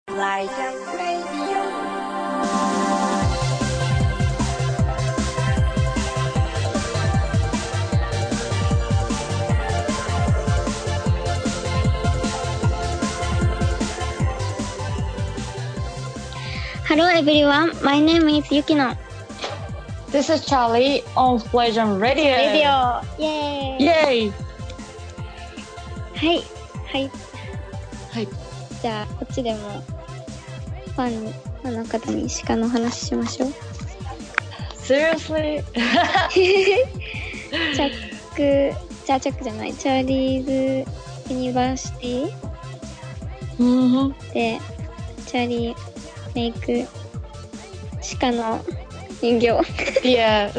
Like a radio. Hello everyone, my name is Yukino. This is Charlie on Flayjam Radio. レディオイェーイ Yay! はいはいはい。 じゃあこっちでもファンの方に鹿の話しましょう。 Seriously? チャックじゃない、チャーリーズユニバーシティ Mm-hmm. でチャーリーメイク鹿の人形 Yeah.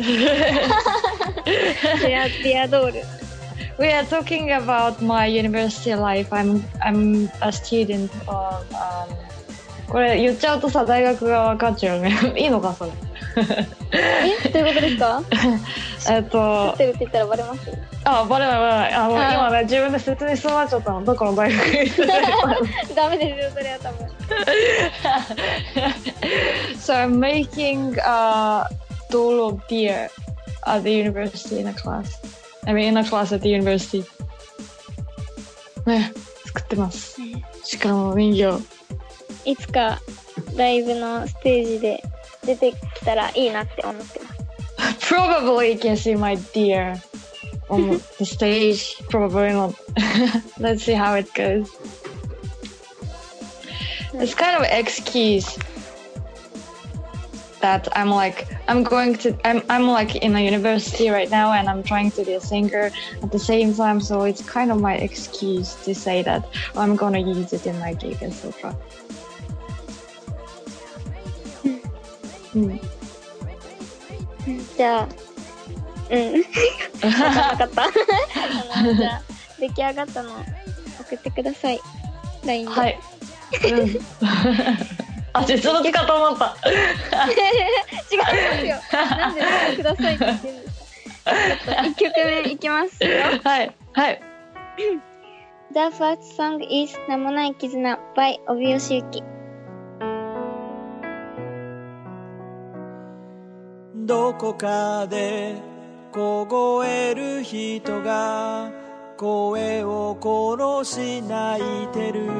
ディアドール We are talking about my university life. I'm a student of これ言っちゃうとさ、大学が分かっちゃうね。いいのかそれ。 どういうことですか？知ってるって言ったらバレます？ バレない今ね、自分で説明しそうになっちゃったの。どこの大学に行ってたダメですよ、それは多分。 So I'm making a doll of deer at the university in a class. I mean in a class at the university. ね、作ってます。鹿の人形。 いつかライブのステージで出てきたらいいなって思ってます。 Probably you can see my deer on the stage. Probably not. Let's see how it goes. It's kind of excuse that I'm like in a university right now and I'm trying to be a singer at the same time, so it's kind of my excuse to say that I'm gonna use it in my gig, etc. じゃあ分かんなかったじゃあ出来上がったの送ってください LINE で。はい、 実物かと思った違いますよ。なんでくださいって言ってるんですか。ちょっと1曲目いきますよ。 はいはい。 The first song is 名もない絆 by 帯吉ゆき。 どこかで凍える人が声を殺し泣いてる。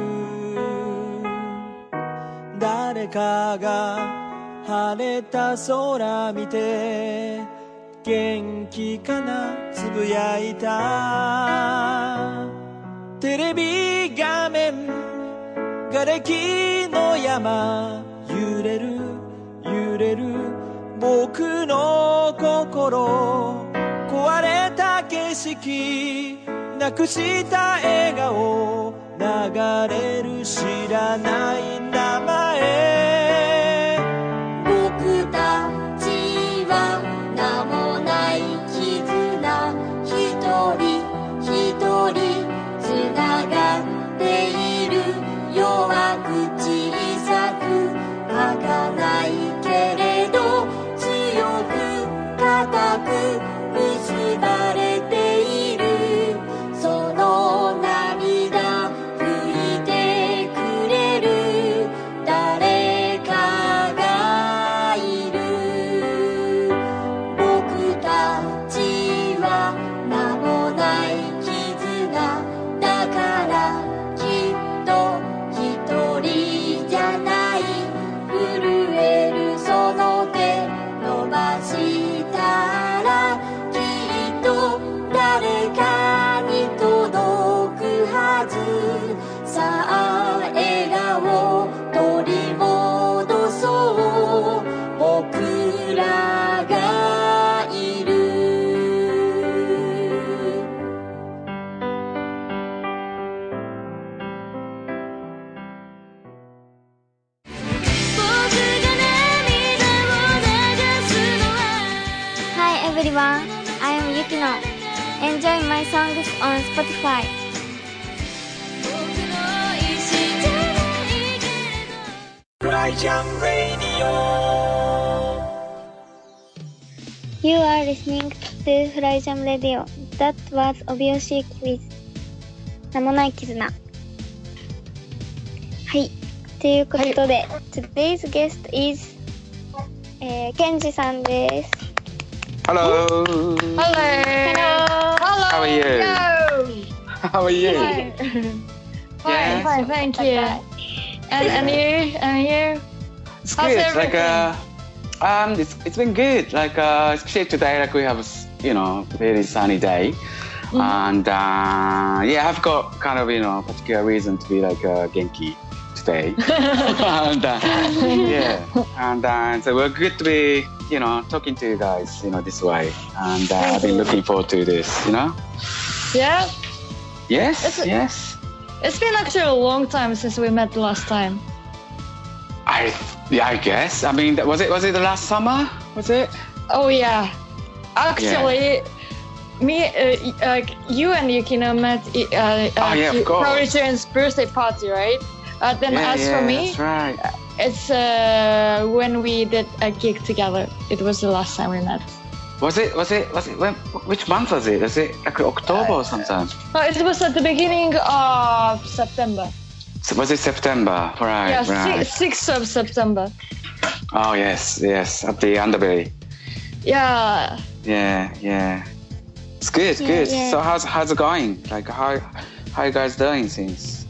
誰かが晴れた空見て元気かなつぶやいた。テレビ画面瓦礫の山揺れる揺れる僕の心壊れた景色なくした笑顔流れる知らない名前。 僕たちは名もない絆一人一人つながっている。弱く小さく儚いけれど強く固く結ばれている。その涙拭いてくれる誰かがいる。僕たちは名もない絆だからきっと一人じゃない。震えるその手伸ばしたらきっと誰かに届くはず。さあ笑顔取り戻そう僕らがいる。 Hi everyone, I am Yukino. Enjoy my songs on Spotify. Flayjam Radio. You are listening to Flayjam Radio. That was 帯吉ゆき with 名もない絆。はい。 ということで、Today's guest is ケンジさんです。 Hello. Hello. How are you? How are you? Fine, fine, thank you. And you? And you? It's How's good. everything? It's been good. Especially today, we have very sunny day, and I've got kind of particular reason to be genki today, and so we're good to be talking to you guys this way, and I've been looking forward to this. Yeah. Yes. Yes. It's been actually a long time since we met last time. I guess. I mean, was it the last summer? Was it? Oh yeah. Actually, me, you and Yukino met of course. Provision's birthday party, right? Then as for me, that's right. It's when we did a gig together. It was the last time we met. Was it when? Which month was it? Was it October or something? It was at the beginning of September. So was it September? Right. Yeah, right. 6th of September. Oh yes, at the Underbelly. Yeah. Yeah. It's good. Yeah. So how's it going? How you guys doing since?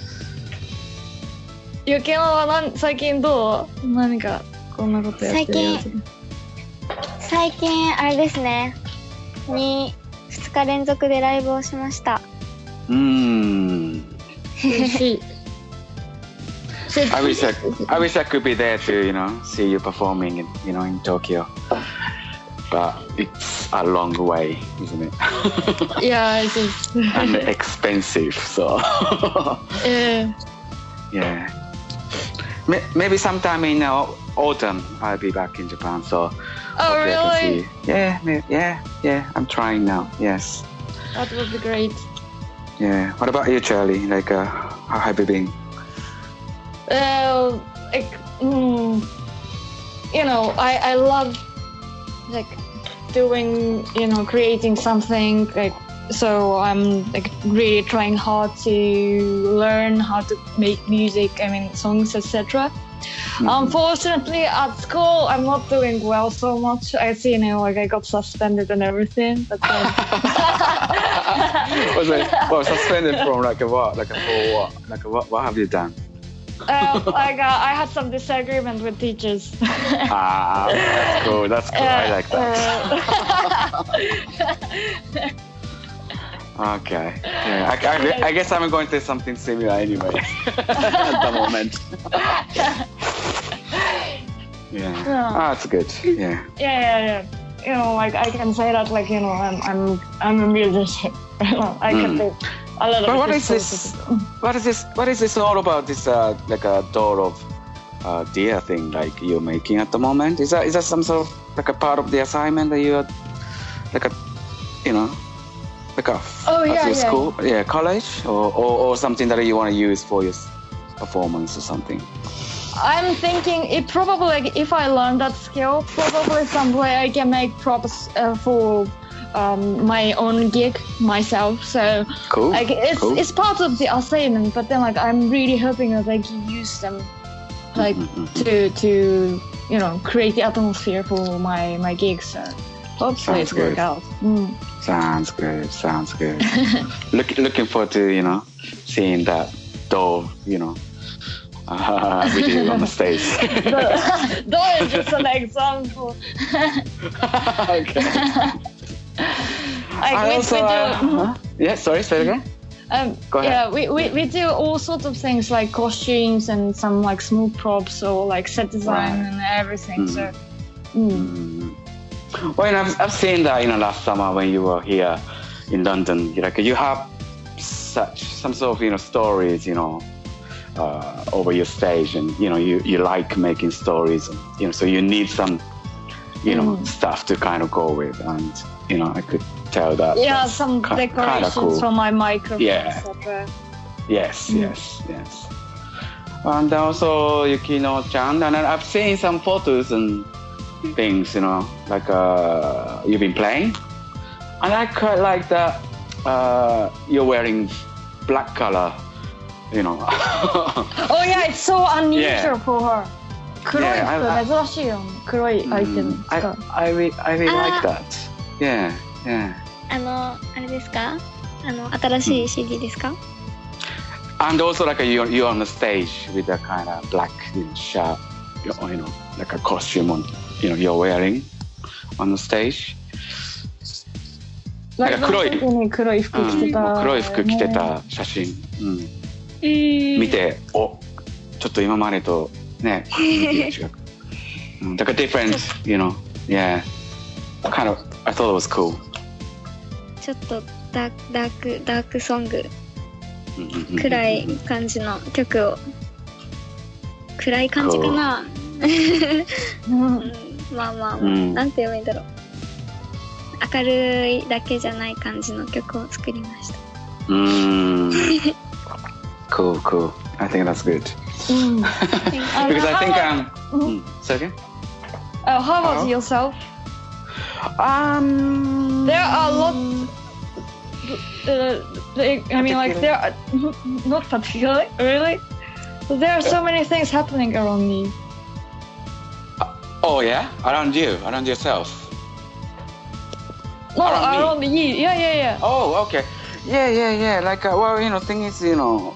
ゆきのは最近どう？何かこんなことやってるやつ。 最近あれですね。2日連続でライブをしました。 I wish I could be there to see you performing in Tokyo, but it's a long way, isn't it? Yeah, it is. And expensive, so. Yeah. Maybe sometime in autumn I'll be back in Japan, so. Oh really? Yeah. I'm trying now. Yes. That would be great. Yeah. What about you, Charlie? How have you been? I love doing creating something so I'm really trying hard to learn how to make music, songs, etc. Unfortunately at school I'm not doing well so much. I see I got suspended and everything, but then suspended from what? What have you done? I had some disagreement with teachers. That's cool. I like that. Okay. Yeah, I guess I'm going to do something similar anyway at the moment. Yeah. That's good. Yeah. Yeah. I can say that I'm a musician. I can do a lot of. But what is this all about? This a doll of deer thing you're making at the moment? Is that some sort of a part of the assignment that you are your school, college, or something that you want to use for your performance or something? I'm thinking it probably if I learn that skill, probably some way I can make props for my own gig myself. So cool. It's part of the assignment, but then I'm really hoping that I can use them to create the atmosphere for my gigs. So hopefully it work out. Sounds good. Looking forward to seeing that doll with you on the stage. Doll is just an example. Okay. Sorry, say it again. Go ahead. Yeah, we do all sorts of things like costumes and some small props or set design and everything. So. Well, I've seen that last summer when you were here in London. You have some sort of stories over your stage, and you like making stories, so you need some stuff to kind of go with, and I could tell that. Yeah, some decorations cool. for my microphone, etc. Yes. And also Yukino-chan, and I've seen some photos and things, you've been playing, and I quite like that you're wearing black color you know. Oh yeah, it's so unusual Yeah. for her. 黒い Yeah, 服珍しいよ。黒いアイテム使う。 I really like that. Yeah, yeah. あれですか？新しい CD ですか？ And also like you're on the stage with a kind of black shirt, you know, like a costume on, you know, you're wearing on the stage. なんか黒い時に黒い服着てた。 黒い服着てた写真、見て、お、ちょっと今までとね、違う。だから different, you know, yeah. Kind of, I thought it was cool. ちょっとダークソング、暗い感じの曲を、暗い感じかな。まあまあ、なんて言えばいいんだろう。明るいだけじゃない感じの曲を作りました。 Cool. I think that's good. Because I think say again? How about yourself? There are a lot. I mean, like there are not particularly, really. But there are so many things happening around me. Oh yeah, around you, around yourself. No, Around me? around you. Yeah. Oh, okay. Yeah. Like, well, you know, thing is, you know,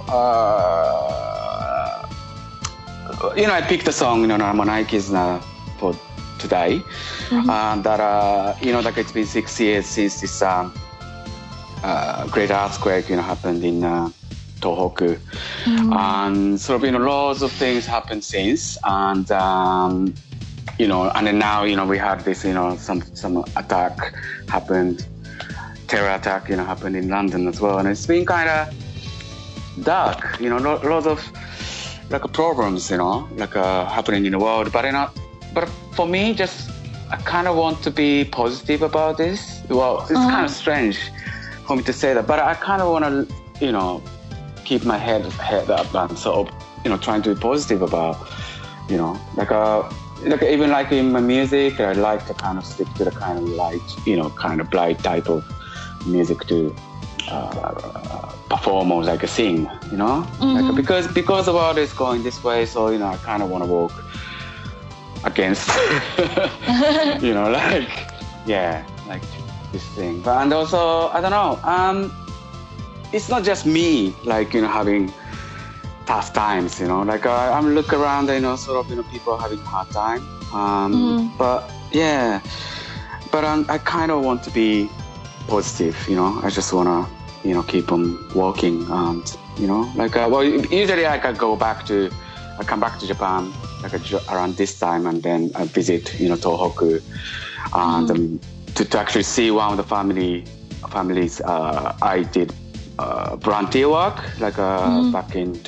I picked a song, you know, Namanaikis for today. That, you know, like it's been 6 years since this great earthquake, you know, happened in Tohoku. And sort of, you know, lots of things happened since. And, you know, and then now, you know, we had this, you know, some attack happened, terror attack, you know, happened in London as well. And it's been kind of dark, you know, lots of like problems, you know, like happening in the world. But, you know, but for me, just, I kind of want to be positive about this. Well, it's kind of strange for me to say that, but I kind of want to, you know, keep my head up and sort of, you know, trying to be positive about, you know, like even like in my music, I like to kind of stick to the kind of light, you know, kind of bright type of music to perform or like sing, you know, like because the world is going this way, so you know, I kind of want to walk against, you know, like like this thing. But and also, I don't know, it's not just me, like, you know, having tough times, you know, like I'm look around, you know, sort of, you know, people are having a hard time, but yeah, but I kind of want to be positive, you know, I just want to, you know, keep on walking, and, you know, like, well, usually I come back to Japan, like around this time, and then I visit, you know, Tohoku, and to actually see one of the families, I did volunteer work, like back in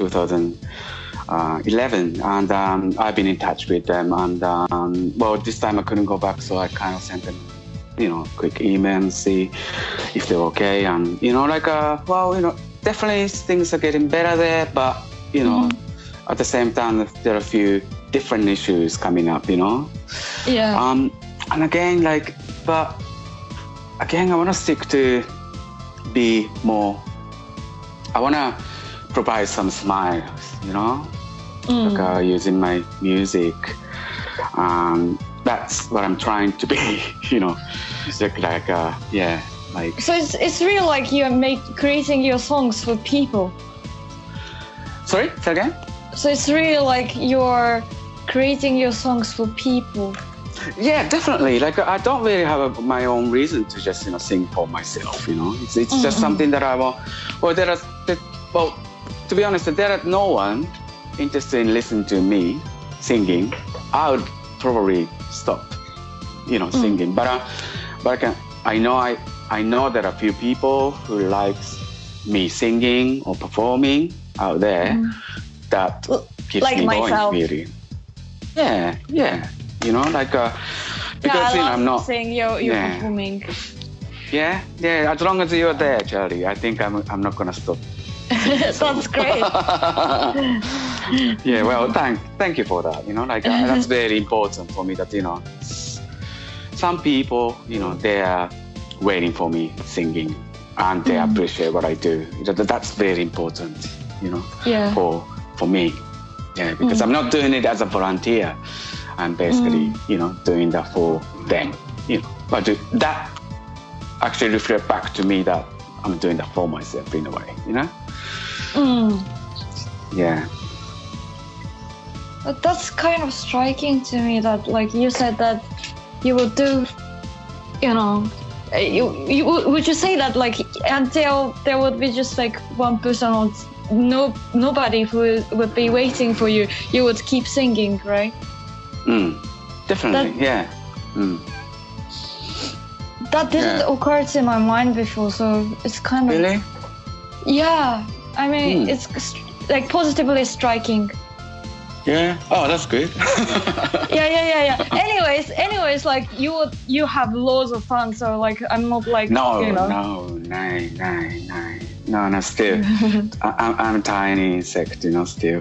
2011, and I've been in touch with them, and well, this time I couldn't go back, so I kind of sent them, you know, quick email and see if they're okay, and, you know, like, well, you know, definitely things are getting better there, but, you know, at the same time, there are a few different issues coming up, you know. Yeah. And again, like, but again, I want to stick to be more. I want to provide some smiles, you know, like using my music. That's what I'm trying to be, you know, like yeah, like. So it's really like you're creating your songs for people. Sorry, say again? So it's really like you're creating your songs for people. Yeah, definitely. Like, I don't really have my own reason to just, you know, sing for myself, you know. It's just something that I want. Well, to be honest, there are no one interested in listening to me singing. I would probably stop, you know, singing. But I know there are a few people who likes me singing or performing out there that keeps like me myself. going, really. Yeah. You know, like, because, you know, I'm not saying you're performing. Yeah. As long as you're there, Charlie, I think I'm not gonna stop. That's great. Yeah. Well, thank you for that. You know, like, that's very important for me. That, you know, some people, you know, they are waiting for me singing, and they appreciate what I do. That's very important. you know, Yeah. for me. Yeah, because I'm not doing it as a volunteer. I'm basically, you know, doing that for them. You know, but that actually reflects back to me that I'm doing that for myself in a way, you know? Yeah. But that's kind of striking to me that, like, you said that you would do, you know, you would you say that, like, until there would be just like one person or nobody who would be waiting for you, you would keep singing, right? Definitely, yeah. That didn't occur to my mind before, so it's kind of... Really? Yeah, I mean, it's like positively striking. Yeah. Oh, that's good. Yeah. Anyways, like you have loads of fun, so like I'm not like No, you know. No, still. I'm tiny insect, you know, still.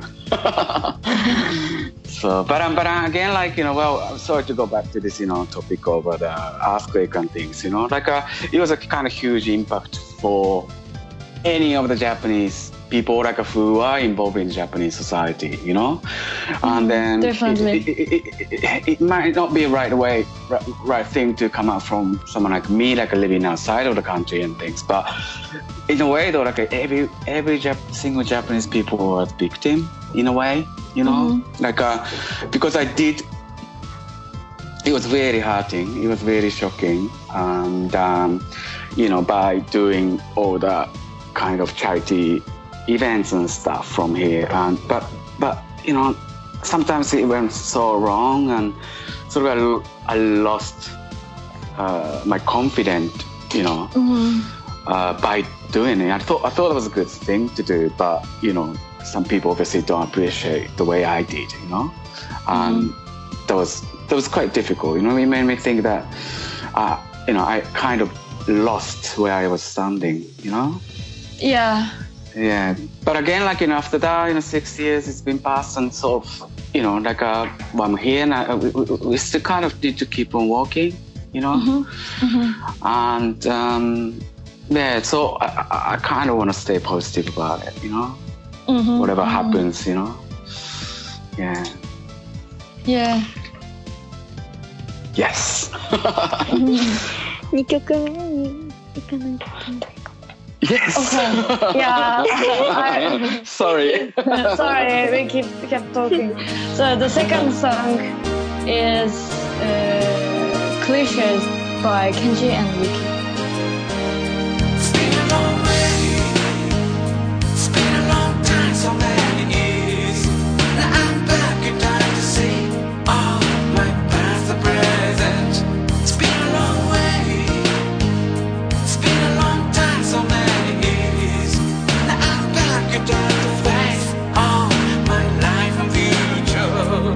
So, but again, like, you know, well, I'm sorry to go back to this, you know, topic of the earthquake and things, you know, like it was a kind of huge impact for any of the Japanese people, like who are involved in Japanese society, you know, and then Definitely. it might not be right thing to come out from someone like me, like living outside of the country and things, but in a way though, like every single Japanese people was victim in a way, you know, like because it was very hurting, it was very shocking, and you know, by doing all the kind of charity events and stuff from here, and but you know, sometimes it went so wrong, and sort of I lost my confidence, you know, by doing it. I thought it was a good thing to do, but you know, some people obviously don't appreciate the way I did, you know, and that was quite difficult, you know. It made me think that you know, I kind of lost where I was standing, you know. Yeah, but again, like, you know, after that, you know, 6 years it's been passed, and sort of, you know, like I'm here, and we still kind of need to keep on walking, you know, and yeah, so I kind of want to stay positive about it, you know, whatever happens, you know, yeah. Yes. 2曲目に行かないといけない。 Yes. Okay. Yeah. Sorry. Sorry, we kept talking. So the second song is Clichés by Kenji and Yuki. It's been a long way. It's been a long time, so many years. Now I'm back in time to see all my past and present. It's been a long way. It's been a long time, so many. Time to face all my life and future.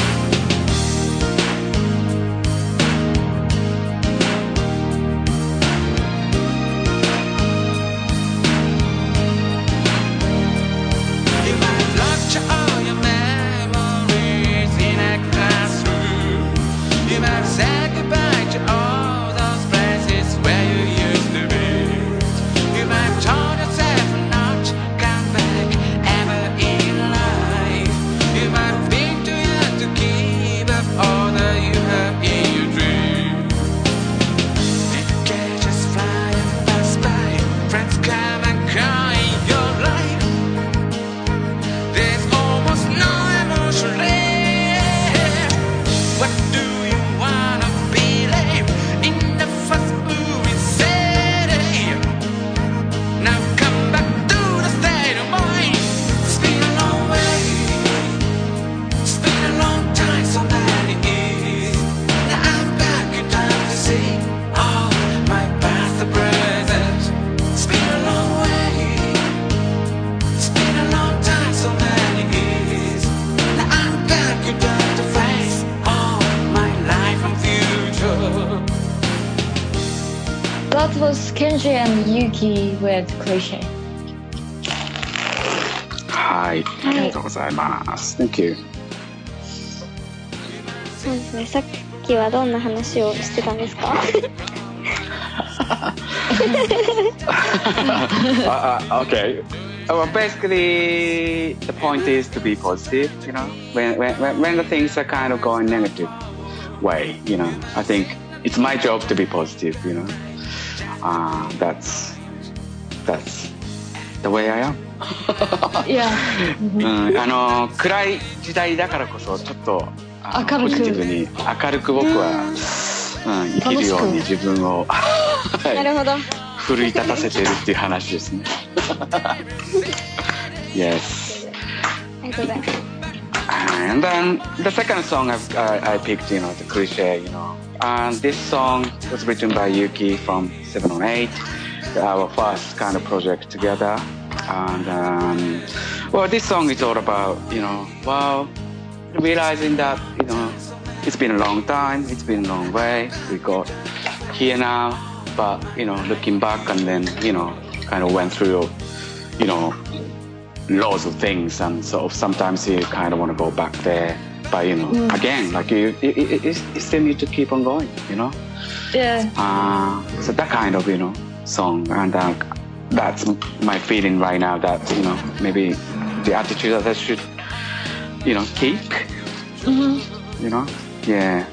You might lecture all your memories in a classroom. You might say goodbye to all those places where you used to be. You might told yourself not come back ever in life. You might think too young to keep up all that you have in your dream. Decades just fly and pass by. Friends come and go in your life. There's almost no emotion left. What do you wanna believe in the first movie city? Now come back to the state of mind. It's been a long way. It's been a long time, so many years. Now I'm back in time to see all my past and present. It's been a long way. It's been a long time, so many years. Now I'm back in time to face all my life and future. That was Kenji and Yuki with Cliché. はい、ありがとうございます。Thank you. そうですね。さっきはどんな話をしてたんですか？ Okay. Well, basically, the point is to be positive, you know. When the things are kind of going negative way, you know, I think it's my job to be positive, you know. That's the way I am. Yeah. 暗い時代だからこそちょっと明るくポジティブに明るく僕は、生きるように自分をなるほど。 奮い立たせてるっていう話ですね。Yes. ありがとうございます。 And then the second song I picked, you know, the cliche, you know. And this song was written by Yuki from 708, our first kind of project together. And well, this song is all about, you know, well, realizing that, you know, it's been a long time, it's been a long way, we got here now, but, you know, looking back and then, you know, kind of went through, you know, loads of things, and sort of sometimes you kind of want to go back there, but, you know, again, like you still need to keep on going, you know. Yeah. So that kind of, you know, song, and that's my feeling right now, that, you know, maybe the attitude that I should, you know, keep, you know. Yeah.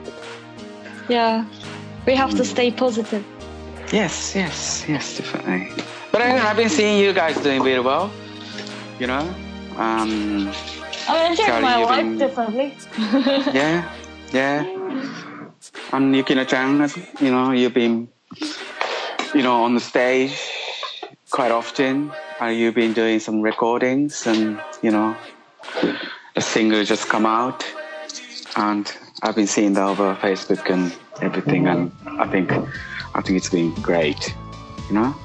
We have to stay positive. Yes, definitely. But I've been seeing you guys doing really well, you know. I'm enjoying Charlie, my you've life been- differently. Yeah. And Yukino-chan, you know, you've been, you know, on the stage quite often. You've been doing some recordings, and, you know, a single just come out, and I've been seeing that over Facebook and everything, and I think it's been great, you know.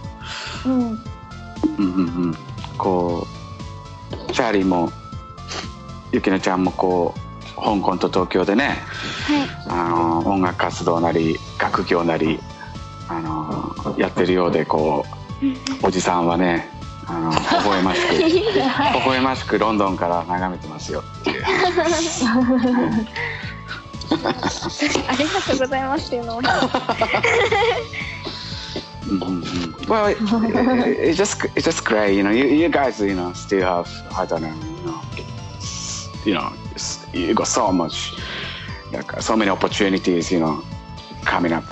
こうチャーリーもゆきのちゃんもこう香港と東京でね、音楽活動なり学業なりやってるようで、こうおじさんはね微笑ましくロンドンから眺めてますよっていう。 ありがとうございますっていうのを。 Well, it's just great, you know. You guys, you know, still have, I don't know, you know, you got so much, like so many opportunities, you know, coming up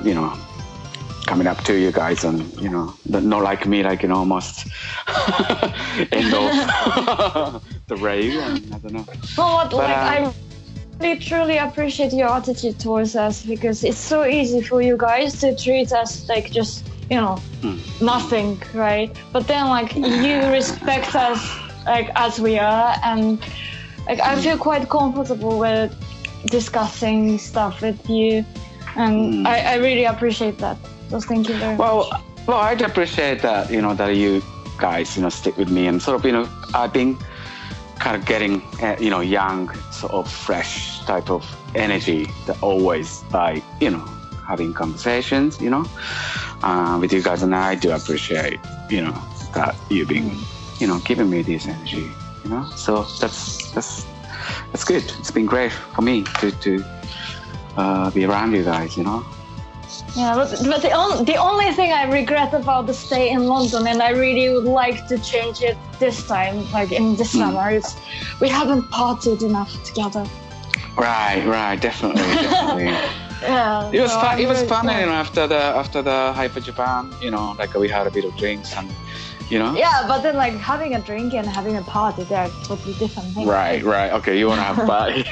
to you guys, and, you know, not like me, like, you know, almost end of the rave, and I don't know. Well, But, I really truly appreciate your attitude towards us, because it's so easy for you guys to treat us like just, you know, nothing, right? But then, like, you respect us like as we are, and like I feel quite comfortable with discussing stuff with you, and I really appreciate that. So thank you very much. Well, I'd appreciate that, you know, that you guys, you know, stick with me, and sort of, you know, I've been kind of getting, you know, young, sort of fresh type of energy that always, by, you know, having conversations, you know, with you guys, and I do appreciate, you know, that you've been, you know, giving me this energy, you know. So that's good. It's been great for me to be around you guys, you know. Yeah, but the only thing I regret about the stay in London, and I really would like to change it this time, like in this summer, is we haven't partied enough together. Right, definitely. Yeah, It was so fun. I'm It was really fun, glad. you know, after the Hyper Japan, you know, like we had a bit of drinks, and, you know. Yeah, but then like having a drink and having a party, they're totally different things. Right. Okay, you want to have a party?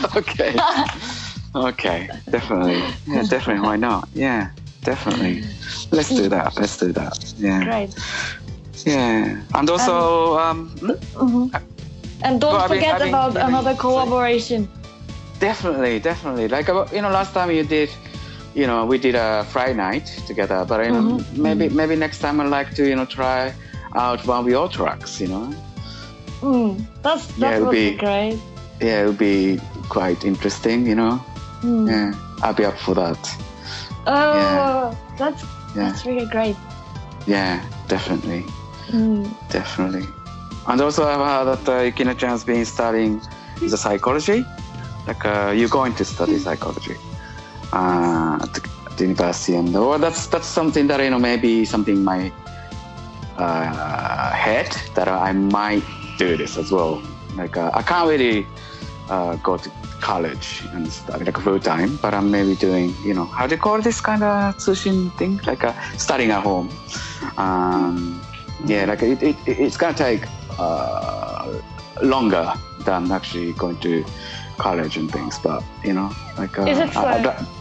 Okay, definitely. Yeah, definitely. Why not? Yeah, definitely. Let's do that. Yeah. Great. Yeah, and also, And don't Well, forget about another collaboration. definitely. Like, you know, last time you did, you know, we did a Friday night together, but, you know, maybe next time I'd like to, you know, try out one of your tracks, you know. That it would would be be- great. Yeah, it would be quite interesting, you know. Yeah, I'll be up for that. Oh, Yeah. that's really great. Yeah, definitely. And also I've heard that Yukino-chan's been studying the psychology. Like, you're going to study psychology at the university, and that's something that, you know, maybe something head that I might do this as well. Like I can't really go to college and stuff like full time, but I'm maybe doing, how do you call this kind of tsushin thing, like studying at home. Like it's gonna take longer than actually going to college and things, but like is it so?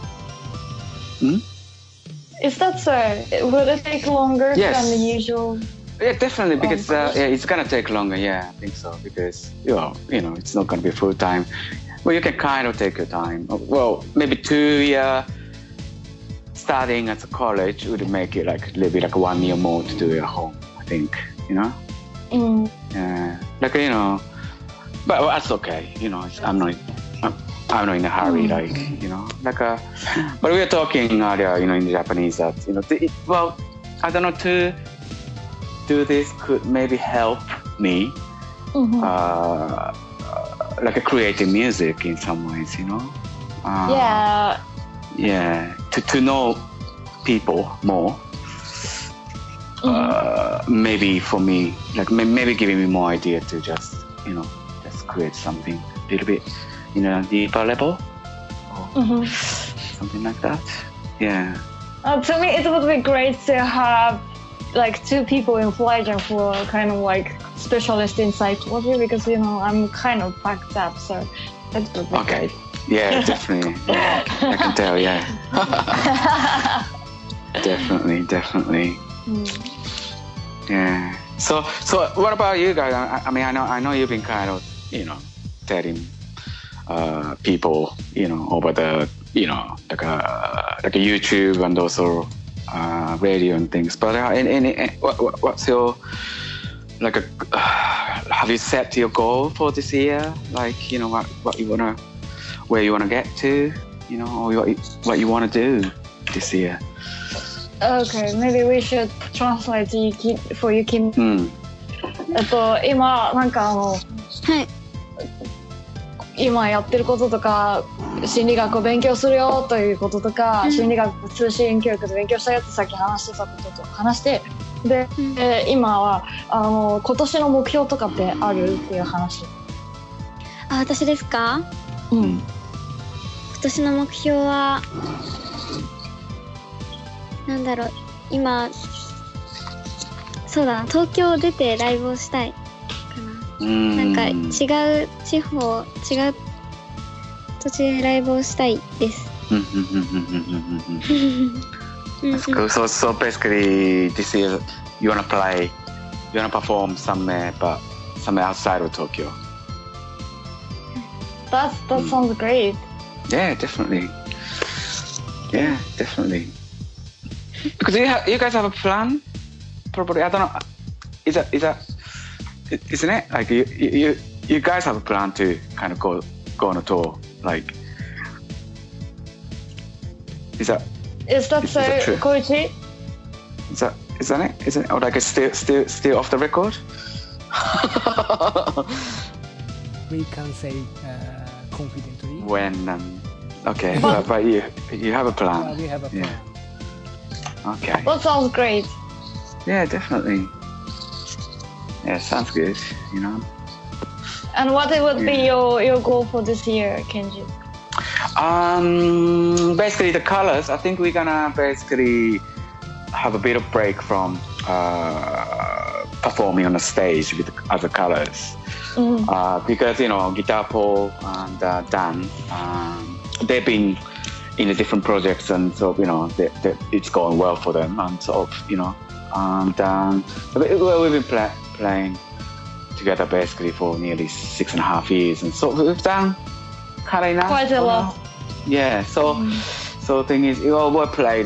Is that so? Will it take longer than the usual? Yeah, definitely, because it's gonna take longer. Yeah, I think so, because it's not gonna be full time. Well, you can kind of take your time. Well, maybe 2 years studying at the college would make it like a little bit like 1 year more to do it at home, I think. Yeah, like but that's okay. I'm not in a hurry, like like but we were talking earlier, in Japanese that I don't know, to do this could maybe help me like creating music in some ways, to know people more. Maybe for me, like maybe giving me more idea to just create something a little bit deeper level or something like that. To me it would be great to have like 2 people in Flygen who are kind of like specialist in psychology, because I'm kind of packed up, so that would be great. Yeah, definitely. Yeah, I can tell. Yeah. definitely. Yeah. So what about you guys? I mean, I know you've been kind of telling people over the like a YouTube and also radio and things. But what's your like have you set your goal for this year? Like what you wanna, where you wanna get to, or what you wanna do this year? Okay, maybe we should translate for you, Kim. 今なんか今やってることとか、心理学を勉強するよということとか、心理学通信教育で勉強したよってさっき話してたことと話して、で、今は今年の目標とかってあるっていう話。 私ですか？今年の目標はなんだろう、今そうだな、東京出てライブをしたいかな。なんか違う地方、違う土地でライブをしたいです。 That's cool. So basically this year you wanna perform somewhere, but somewhere outside of Tokyo. That sounds great. Yeah, definitely. Because you guys have a plan? Probably, I don't know. Isn't it? Like you guys have a plan to kind of go on a tour, like. Is that so, Koichi? Isn't it? Or like it's still off the record? We can say confidently. When okay, but you have a plan. We have a plan. Yeah. Okay. That sounds great. Yeah, definitely. Yeah, sounds good. And what would be your goal for this year, Kenji? Basically the colors. I think we're gonna basically have a bit of break from performing on the stage with other colors. Because Guitar Paul and Dan, they've been in the different projects, and so it's going well for them, and sort of and we've been playing together basically for nearly 6.5 years, and so we've done kind of enough. Quite a lot. Yeah. So the thing is, we played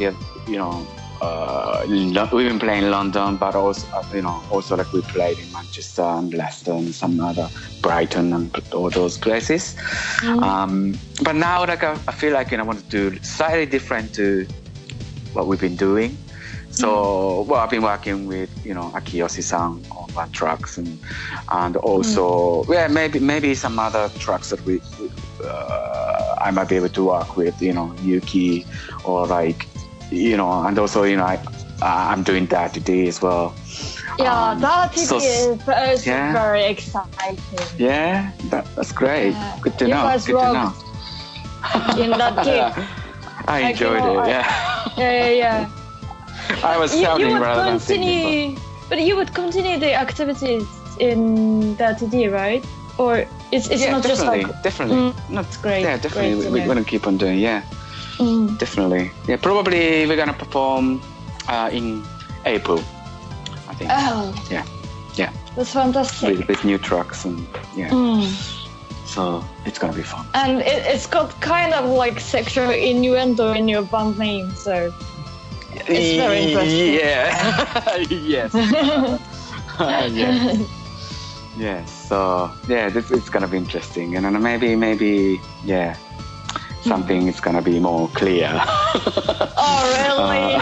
we've been playing in London, but also also like we played in Manchester and Leicester and some other Brighton and all those places. But now like I feel like I want to do slightly different to what we've been doing. So I've been working with Akiyoshi-san on one tracks, and also maybe some other tracks that I might be able to work with Yuki, or like and also I'm doing Dirty D as well. Yeah, Dirty so- D is also yeah. very exciting. Yeah, that's great. Yeah. Good to You know. guys Good to know. rocked in that game. I enjoyed it. Yeah. Yeah. I was You shouting would rather than singing. continue, but you would continue the activities in Dirty D, right? Or it's Yeah, not just like definitely. Not great. Yeah, definitely. Great to We're know. gonna keep on doing. Yeah, definitely. Yeah, probably we're gonna perform in April, I think. Oh, Yeah, that's fantastic. with new trucks and yeah. Mm. So it's gonna be fun. And it's got kind of like sexual innuendo in your band name, so it's very interesting. Yeah. Yes. Yes. Yes. So yeah, it's gonna be interesting, and then maybe yeah, something is gonna be more clear. Oh, really?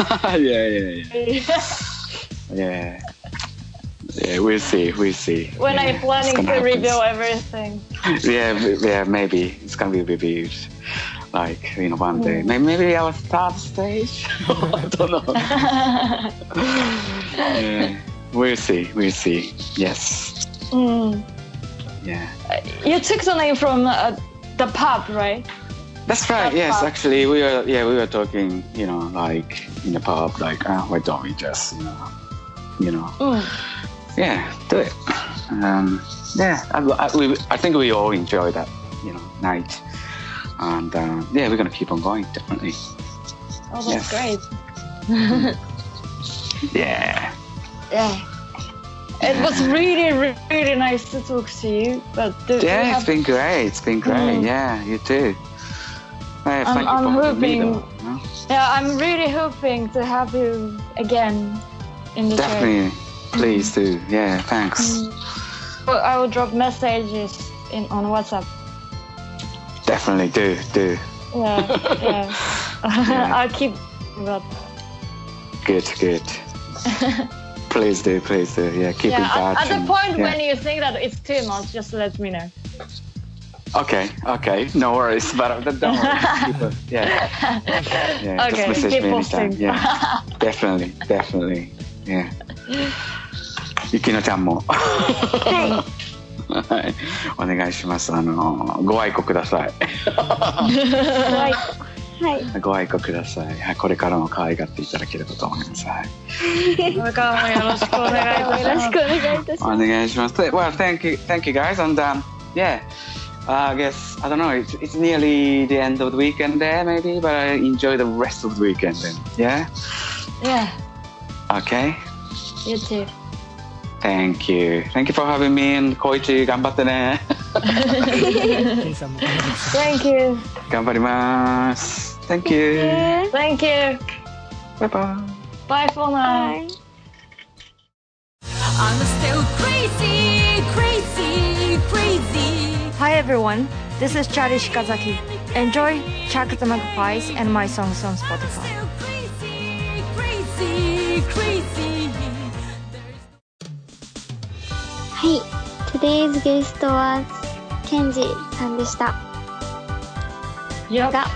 Yeah. We'll see. When Yeah, I'm planning it's to gonna reveal happen. everything. Yeah, maybe it's gonna be reviewed, like one day. Maybe our third stage. I don't know. Yeah, we'll see. Yes. Mm. Yeah. You took the name from the pub, right? That's right. That Yes, pub. actually, we were talking, like in the pub, like, why don't we just, Mm. yeah, do it. Yeah, I think we all enjoy that, night, and yeah, we're gonna keep on going, definitely. Oh, Yes. that's great. Yeah. Yeah. It was really, really nice to talk to you. But Yeah, it's been great. Yeah, you too. Thank you I'm for having me, hoping- though, Yeah, I'm really hoping to have you again in the show. Definitely. Please do. Yeah, thanks. Well, I will drop messages on WhatsApp. Definitely do. Yeah. Yeah. I'll keep that. Good. Please do. Yeah, keep in touch. At the and- point yeah. when you think that it's too much, just let me know. Okay, no worries. But don't worry. Keep it. Yeah. Okay, just message keep me posting. anytime. Yeah, definitely. Yeah. ゆきのちゃんも。はい。お願いします。ご愛顧ください。 はい。 ご愛顧ください。はい、これからも可愛がっていただければと思います。はい。 これからもよろしくお願いいたします。 よろしくお願いいたしおます。 願いします。Well, thank you guys, and yeah, I guess I don't know. It's nearly the end of the weekend there, maybe, but I enjoy the rest of the weekend then. Yeah. Yeah, Okay. you too. Thank you for having me, and コイチ頑張ってね。 ケンさんも頑張ってください。 Thank you. 頑張ります。Thank you. Thank you. Bye bye. Bye for now. はい I'm still crazy, crazy, crazy. Hi everyone, this is Charlie Shikazaki. Enjoy Chuck the Magpies and my songs on Spotify. Still crazy, crazy, crazy. はい。Today's guest はケンジさんでした。 Yep. が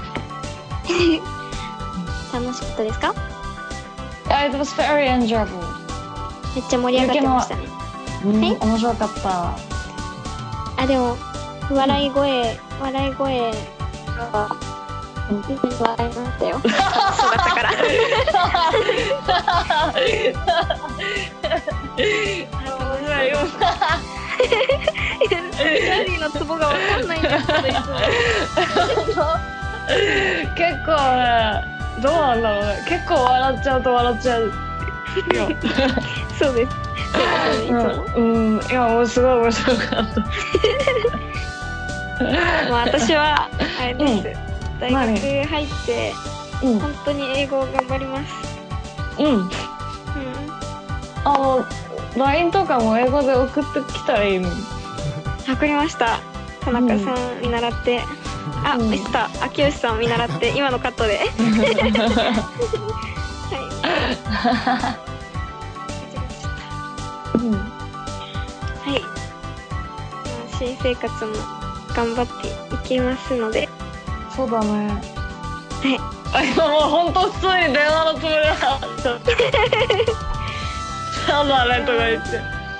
楽しかったですか？ It was very enjoyable. めっちゃ盛り上がってましたね。 面白かった。 あ、でも笑い声が笑いましたよ。そうだったから。チャーリーのツボがわかんないんですけど、いつも。 結構ね、どうなんだろうね。結構笑っちゃうと笑っちゃう。 そうです。いつも。 いや、もうすごい面白かった。 まあ私はあれです。大学入って本当に英語を頑張ります。 LINE とかも英語で送ってきたらいいのに。 わかりました。田中さん見習って。あ、ミスター秋吉さん見習って今のカットで。はい。新生活も頑張っていきますので。 そうだね。 はい。 今もう本当普通に電話のつもりだった。なんだあれとか言って。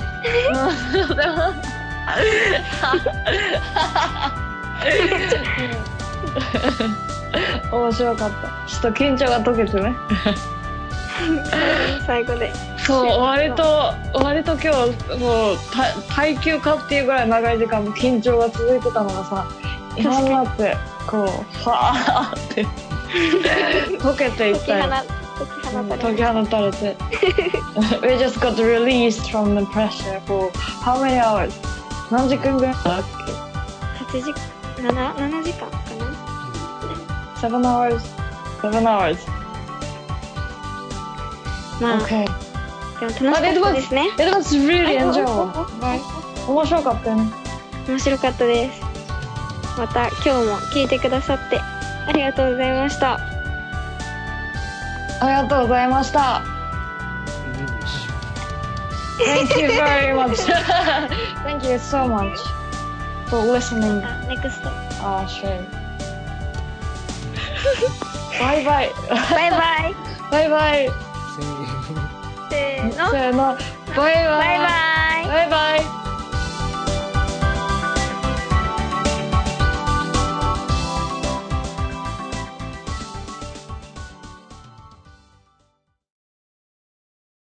面白かった。ちょっと緊張が解けてね。 最後で。 そう、割と今日もう耐久化っていうぐらい長い時間も緊張が続いてたのがさ、今になってこうファーって溶けていったよ。解き放たれて。We just got released from the pressure for how many hours? 何時間ぐらいだっけ？7時間かな？ 7 hours. まあ、 Okay. でも楽しかったですね。 It was really enjoyable. 面白かったよね。 面白かったです。また今日も聞いてくださってありがとうございました。 ありがとうございました。Thank you very much. Thank you so much for listening. Next. Sure. Bye bye. Bye bye. Bye bye. せーの。 せーの。バイバイ。 バイバイ。